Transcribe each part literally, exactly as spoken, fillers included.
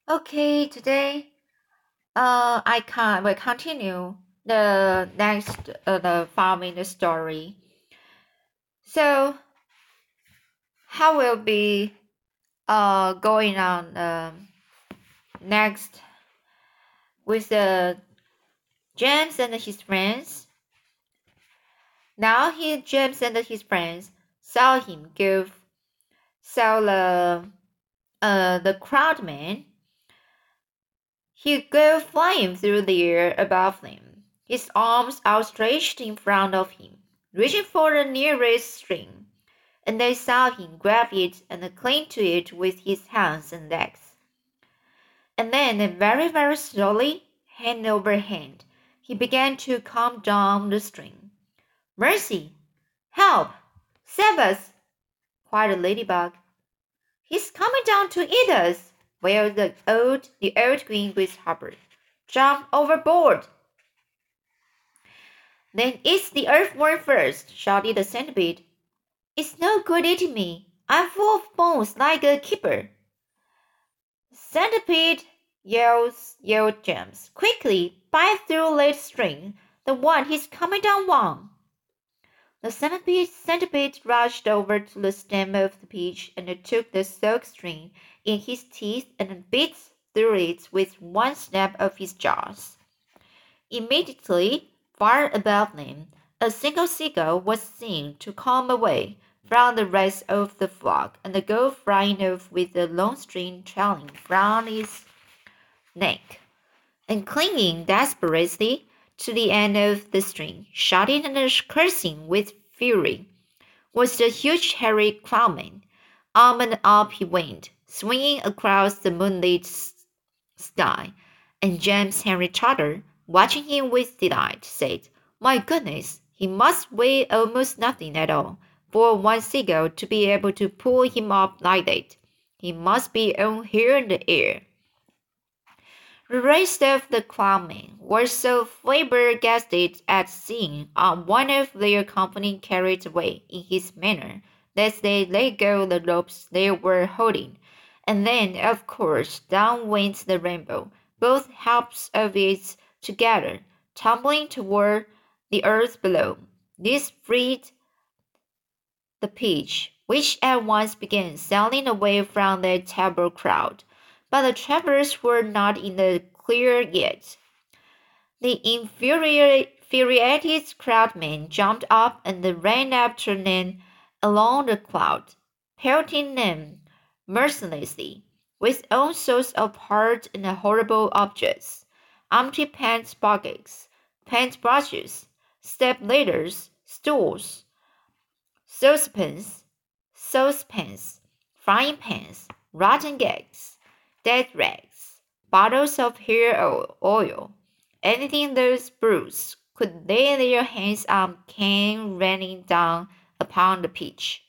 Okay, today uh I can will continue the next uh, the farming story. So how will be uh going on um next with the James and his friends. Now he James and his friends saw him go saw the uh the crowd man. He go flying through the air above them, his arms outstretched in front of him, reaching for the nearest string, and they saw him grab it and cling to it with his hands and legs. And then, very, very slowly, hand over hand, he began to come down the string. Mercy! Help! Save us! cried the ladybug. He's coming down to eat us! wailed the old, the old green grasshopper. Jump overboard! Then eat the earthworm first, shouted the centipede. It's no good eating me. I'm full of bones like a keeper. Centipede, yelled, yelled James. Quickly, bite through that string, the one he's coming down on. The centipede, centipede rushed over to the stem of the peach and took the silk string in his teeth and bit through it with one snap of his jaws. Immediately, far above them, a single seagull was seen to come away from the rest of the flock and go flying off with a long string trailing from its neck, and clinging desperately to the end of the string, shouting and cursing with fury, was the huge hairy clownman. Up and up he went, swinging across the moonlit sky, and James Henry Trotter, watching him with delight, said, My goodness, he must weigh almost nothing at all for one seagull to be able to pull him up like that. He must be on here in the air. The rest of the clownmen were so flabbergasted at seeing uh, one of their company carried away in his manner that they let go the ropes they were holding, and then, of course, down went the rainbow, both halves of it together, tumbling toward the earth below. This freed the peach, which at once began sailing away from the terrible crowd. But the travelers were not in the clear yet. The infuriated crowdmen jumped up and ran after them along the crowd, pelting them mercilessly with all sorts of hard and horrible objects, empty paint buckets, paint brushes, step ladders, stools, saucepans, saucepans, frying pans, rotten eggs, dead rags, bottles of hair oil, anything those brutes could lay their hands on came raining down upon the peach.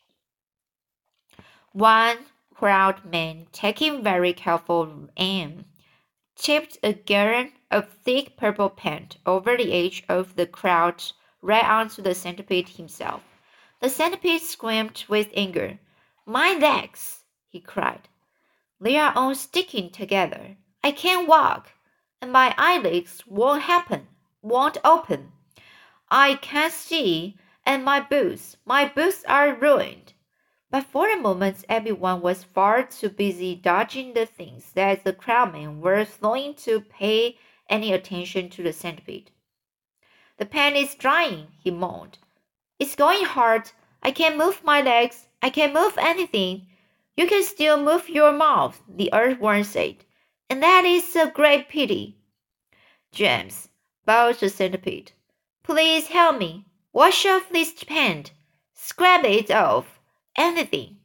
One proud man, taking very careful aim, tipped a gallon of thick purple paint over the edge of the crowd right onto the centipede himself. The centipede screamed with anger. My legs, he cried. They are all sticking together. I can't walk, and my eyelids won't happen, won't open. I can't see, and my boots, my boots are ruined. But for a moment everyone was far too busy dodging the things that the crowdmen were throwing to pay any attention to the centipede. The pen is drying, he moaned. It's going hard. I can't move my legs. I can't move anything. You can still move your mouth, the earthworm said, and that is a great pity. James, bowed the centipede. Please help me. Wash off this paint. Scrap it off. Anything.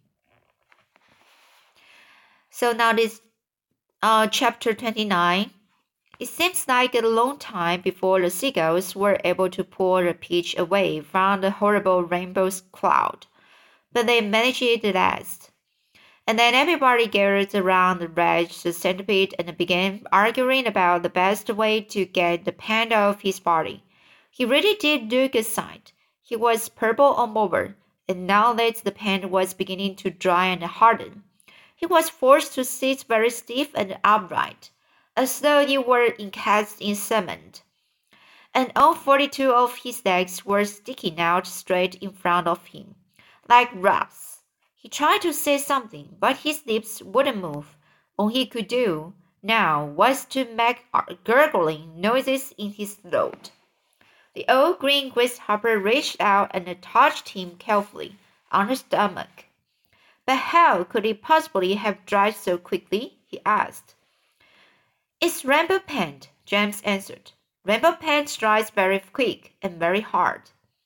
So now this uh, chapter twenty-nine. It seems like a long time before the seagulls were able to pull the peach away from the horrible rainbow cloud, but they managed it at last. And then everybody gathered around the wretched centipede and began arguing about the best way to get the paint off his body. He really did look a sight. He was purple all over, and now that the paint was beginning to dry and harden, He was forced to sit very stiff and upright, as though he were encased in cement, and all forty-two of his legs were sticking out straight in front of him, like rubs. He tried to say something, but his lips wouldn't move. All he could do now was to make gurgling noises in his throat. The old green grasshopper reached out and touched him carefully on the stomach. But how could it possibly have dried so quickly? He asked. It's rainbow paint, James answered. Rainbow paint dries very quick and very hard.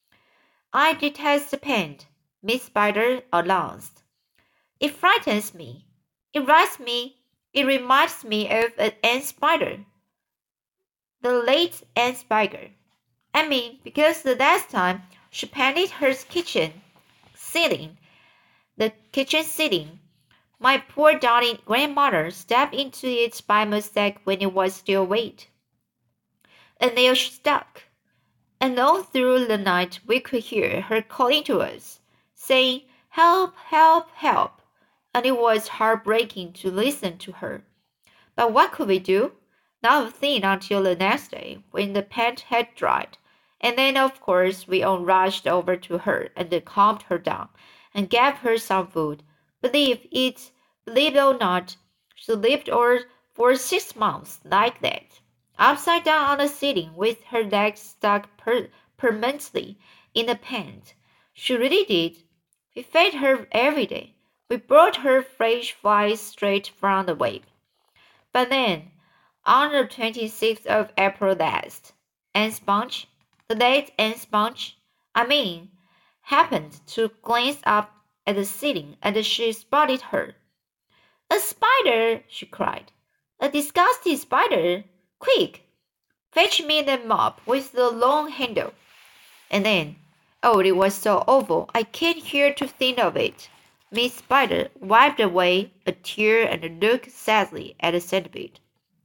I detest the paint, Miss Spider announced. It frightens me. It reminds me, it reminds me of an ant spider. The late Aunt Spider. I mean, because the last time she painted her kitchen ceiling, the kitchen ceiling, my poor darling grandmother stepped into it by mistake when it was still wet. And there she stuck. And all through the night we could hear her calling to us, saying, help, help, help. And it was heartbreaking to listen to her. But what could we do? Not a thing until the next day, when the paint had dried. And then, of course, we all rushed over to her and calmed her down and gave her some food. Believe it, believe it or not, she lived for six months like that, upside down on the ceiling with her legs stuck per permanently in the paint. She really did. We fed her every day. We brought her fresh flies straight from the web. But then, on the twenty-sixth of April last, Aunt Sponge, the late Aunt Sponge, I mean, happened to glance up at the ceiling and she spotted her. A spider, she cried. A disgusting spider. Quick, fetch me the mop with the long handle. And then, oh, it was so awful, I can't hear to think of it. Miss Spider wiped away a tear and looked sadly at the centipede.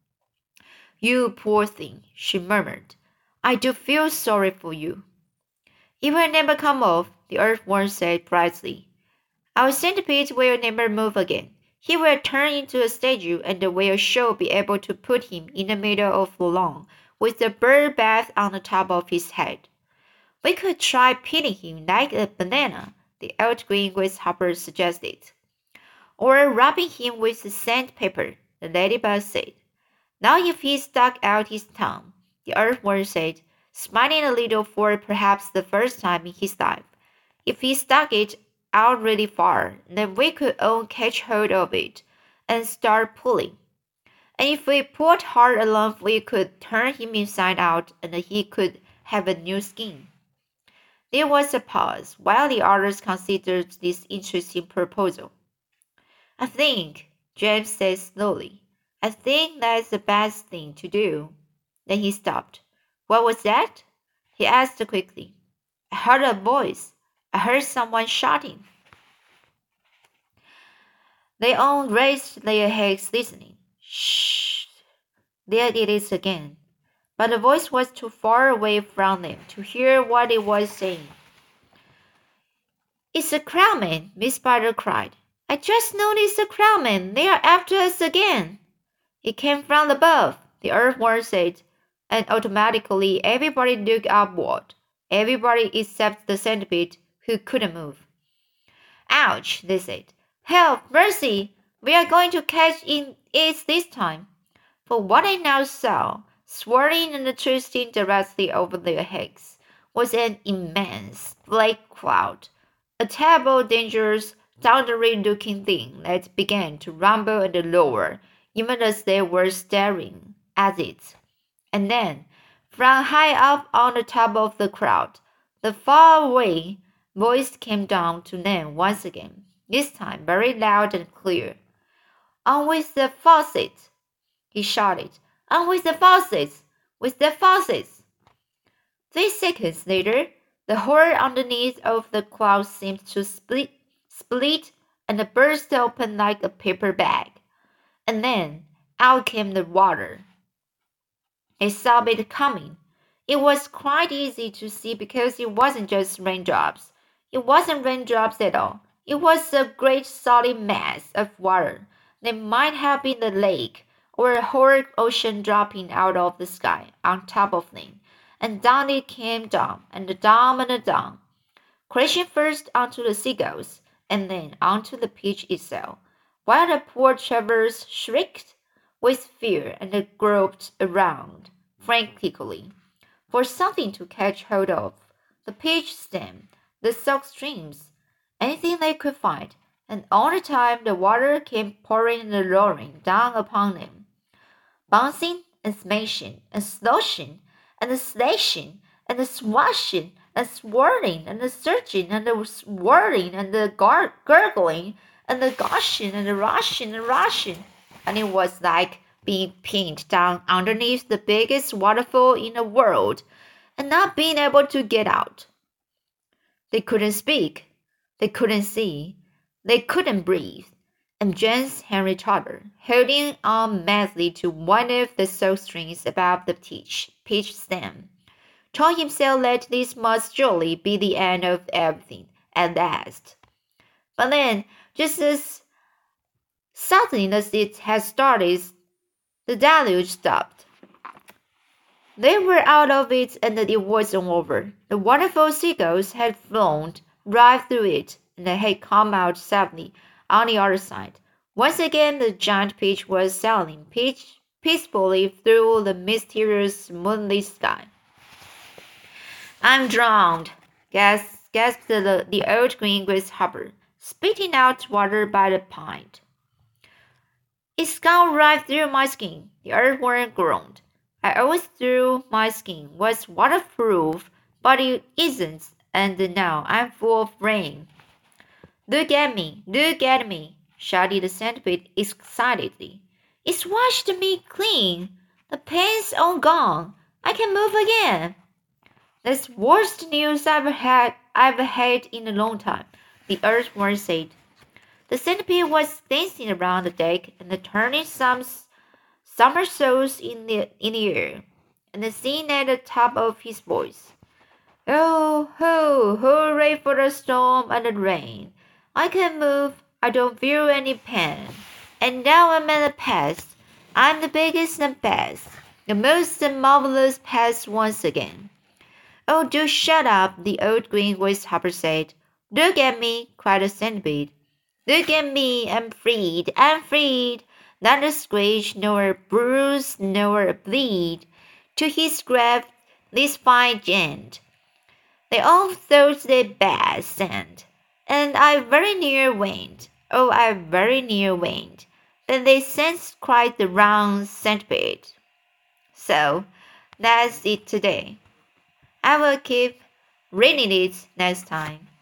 You poor thing, she murmured. I do feel sorry for you. It will never come off, the earthworm said brightly. Our centipede will never move again. He will turn into a statue and we shall be able to put him in the middle of the lawn with a bird bath on the top of his head. We could try peeling him like a banana, the old green grasshopper suggested. Or rubbing him with sandpaper, the ladybug said. Now if he stuck out his tongue, the earthworm said, smiling a little for perhaps the first time in his life. If he stuck it out really far, then we could all catch hold of it and start pulling. And if we pulled hard enough, we could turn him inside out and he could have a new skin. There was a pause while the others considered this interesting proposal. I think, James said slowly, I think that's the best thing to do. Then he stopped. What was that? He asked quickly. I heard a voice. I heard someone shouting. They all raised their heads listening. Shh! There it is again. But the voice was too far away from them to hear what it was saying. It's a crowman, Miss Spider cried. I just noticed a crowman. They are after us again. It came from above, the earthworm said, and automatically everybody looked upward. Everybody except the centipede, who couldn't move. Ouch, they said. Help, mercy! We are going to catch in it this time. For what I now saw, swirling and twisting directly over their heads, was an immense black cloud, a terrible, dangerous, thundery-looking thing that began to rumble and lower, even as they were staring at it. And then, from high up on the top of the crowd, the far-away voice came down to them once again, this time very loud and clear. On with the faucet! He shouted. On with the faucets! With the faucets! Three seconds later, the hole underneath of the cloud seemed to split, split and burst open like a paper bag. And then out came the water. They saw it coming. It was quite easy to see because it wasn't just raindrops. It wasn't raindrops at all. It was a great solid mass of water that might have been a lake or a whole ocean dropping out of the sky on top of them, and down it came down, and down and down, crashing first onto the seagulls, and then onto the peach itself, while the poor travelers shrieked with fear and groped around frantically for something to catch hold of, the peach stem, the silk streams, anything they could find, and all the time the water came pouring and roaring down upon them, bouncing and smashing and sloshing and slashing and swashing and swirling and surging and swirling and gar- gurgling and gushing and rushing and rushing, and it was like being pinned down underneath the biggest waterfall in the world and not being able to get out. They couldn't speak, they couldn't see, they couldn't breathe, and James Henry Trotter, holding on madly to one of the silk strings above the peach, peach stem, told himself that this must surely be the end of everything at last. But then, just as suddenly as it had started, the deluge stopped. They were out of it and it wasn't over. The wonderful seagulls had flown right through it and they had come out safely on the other side. Once again, the giant peach was sailing peach peacefully through the mysterious moonlit sky. I'm drowned, gasped, gasped the, the old green grasshopper, spitting out water by the pint. It's gone right through my skin, the earthworm groaned. I always thought my skin was waterproof, but it isn't, and now I'm full of rain. Look at me, look at me, shouted the centipede excitedly. It's washed me clean. The pain's all gone. I can move again. That's worst news I've had I've had in a long time, the earthworm said. The centipede was dancing around the deck and turning some somersaults in the in the air, and singing at the top of his voice. Oh, ho, hooray for the storm and the rain. I can move, I don't feel any pain. And now I'm at the past. I'm the biggest and best, the most marvelous pest once again. Oh, do shut up, the old green grasshopper said. Look at me, cried the centipede. Look at me, I'm freed, I'm freed. Not a scratch, nor a bruise, nor a bleed. To his grave, this fine gent. They all thought they bad sent, and I very near went. Oh, I very near went. Then they sent quite the round centipede. So, that's it today. I will keep reading it next time.